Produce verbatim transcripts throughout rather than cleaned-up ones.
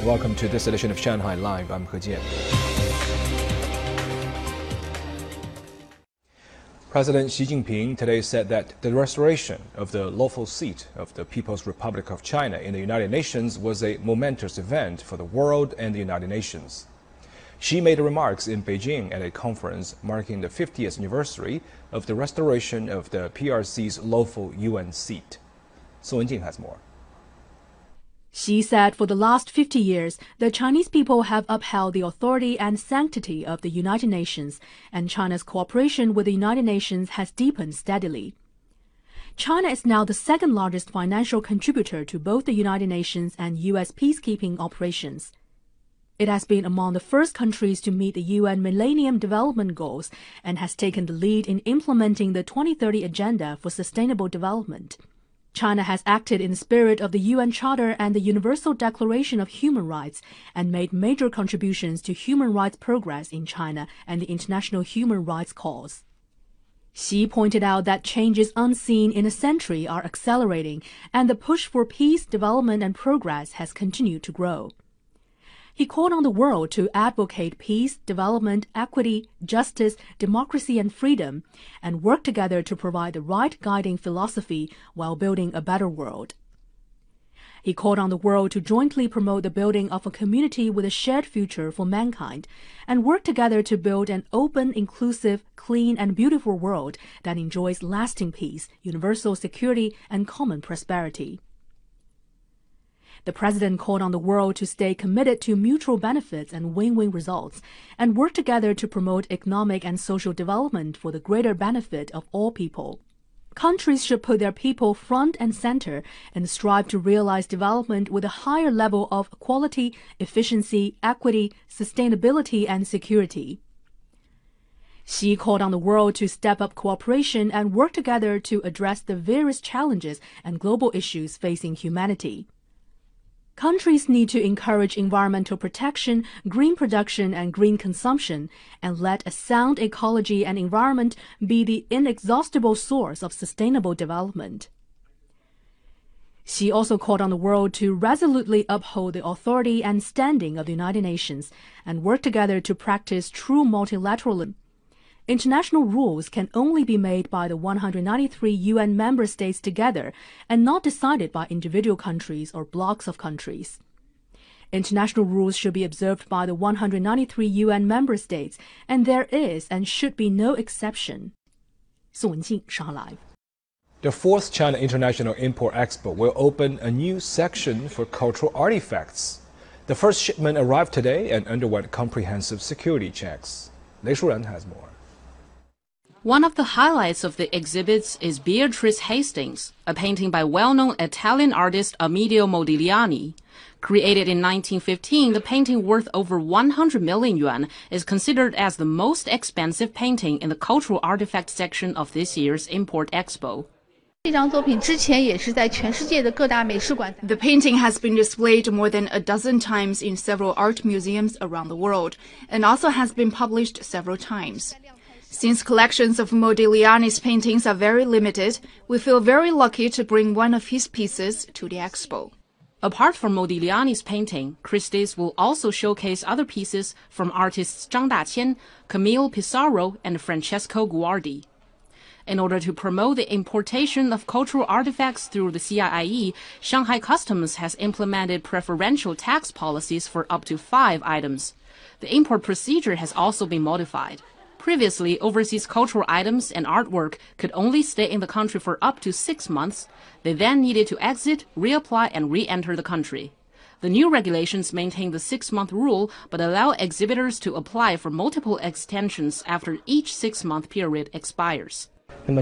Welcome to this edition of Shanghai Live. I'm He Jian. President Xi Jinping today said that the restoration of the lawful seat of the People's Republic of China in the United Nations was a momentous event for the world and the United Nations. Xi made remarks in Beijing at a conference marking the fiftieth anniversary of the restoration of the P R C's lawful U N seat. Su Wenjing has more. Xi said for the last fifty years, the Chinese people have upheld the authority and sanctity of the United Nations, and China's cooperation with the United Nations has deepened steadily. China is now the second largest financial contributor to both the United Nations and U S peacekeeping operations. It has been among the first countries to meet the U N Millennium Development Goals and has taken the lead in implementing the twenty thirty Agenda for Sustainable Development. China has acted in the spirit of the U N Charter and the Universal Declaration of Human Rights and made major contributions to human rights progress in China and the international human rights cause. Xi pointed out that changes unseen in a century are accelerating, and the push for peace, development, and progress has continued to grow. He called on the world to advocate peace, development, equity, justice, democracy, and freedom, and work together to provide the right guiding philosophy while building a better world. He called on the world to jointly promote the building of a community with a shared future for mankind, and work together to build an open, inclusive, clean, and beautiful world that enjoys lasting peace, universal security, and common prosperity. The president called on the world to stay committed to mutual benefits and win-win results, and work together to promote economic and social development for the greater benefit of all people. Countries should put their people front and center and strive to realize development with a higher level of quality, efficiency, equity, sustainability, and security. Xi called on the world to step up cooperation and work together to address the various challenges and global issues facing humanity. Countries need to encourage environmental protection, green production, and green consumption, and let a sound ecology and environment be the inexhaustible source of sustainable development. Xi also called on the world to resolutely uphold the authority and standing of the United Nations and work together to practice true multilateralism. International rules can only be made by the one hundred ninety-three U N member states together and not decided by individual countries or blocks of countries. International rules should be observed by the one hundred ninety-three U N member states, and there is and should be no exception. Su Wenjing, Shanghai Live. The fourth China International Import Expo will open a new section for cultural artifacts. The first shipment arrived today and underwent comprehensive security checks. Lei Shuren has more. One of the highlights of the exhibits is Beatrice Hastings, a painting by well-known Italian artist Amedeo Modigliani. Created in nineteen fifteen, the painting worth over one hundred million yuan is considered as the most expensive painting in the cultural artifact section of this year's Import Expo. The painting has been displayed more than a dozen times in several art museums around the world, and also has been published several times. Since collections of Modigliani's paintings are very limited, we feel very lucky to bring one of his pieces to the expo. Apart from Modigliani's painting, Christie's will also showcase other pieces from artists Zhang Daqian, Camille Pissarro, and Francesco Guardi. In order to promote the importation of cultural artifacts through the C I I E, Shanghai Customs has implemented preferential tax policies for up to five items. The import procedure has also been modified. Previously, overseas cultural items and artwork could only stay in the country for up to six months. They then needed to exit, reapply, and re-enter the country. The new regulations maintain the six-month rule, but allow exhibitors to apply for multiple extensions after each six-month period expires. The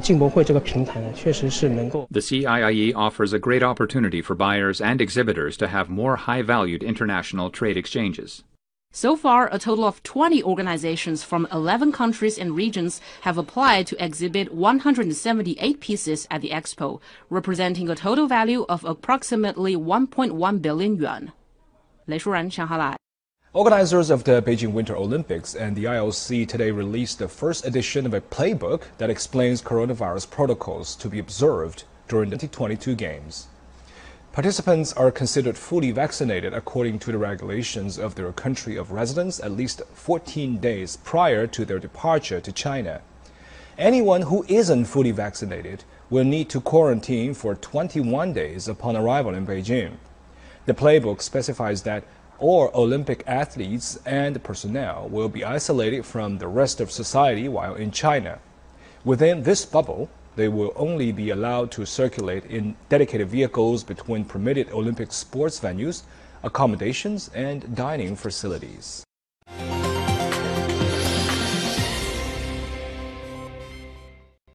C I I E offers a great opportunity for buyers and exhibitors to have more high-valued international trade exchanges. So far, a total of twenty organizations from eleven countries and regions have applied to exhibit one hundred seventy-eight pieces at the expo, representing a total value of approximately one point one billion yuan. Lei Shuren, Shanghai Live. Organizers of the Beijing Winter Olympics and the I O C today released the first edition of a playbook that explains coronavirus protocols to be observed during the twenty twenty-two Games. Participants are considered fully vaccinated according to the regulations of their country of residence at least fourteen days prior to their departure to China. Anyone who isn't fully vaccinated will need to quarantine for twenty-one days upon arrival in Beijing. The playbook specifies that all Olympic athletes and personnel will be isolated from the rest of society while in China. Within this bubble, they will only be allowed to circulate in dedicated vehicles between permitted Olympic sports venues, accommodations, and dining facilities.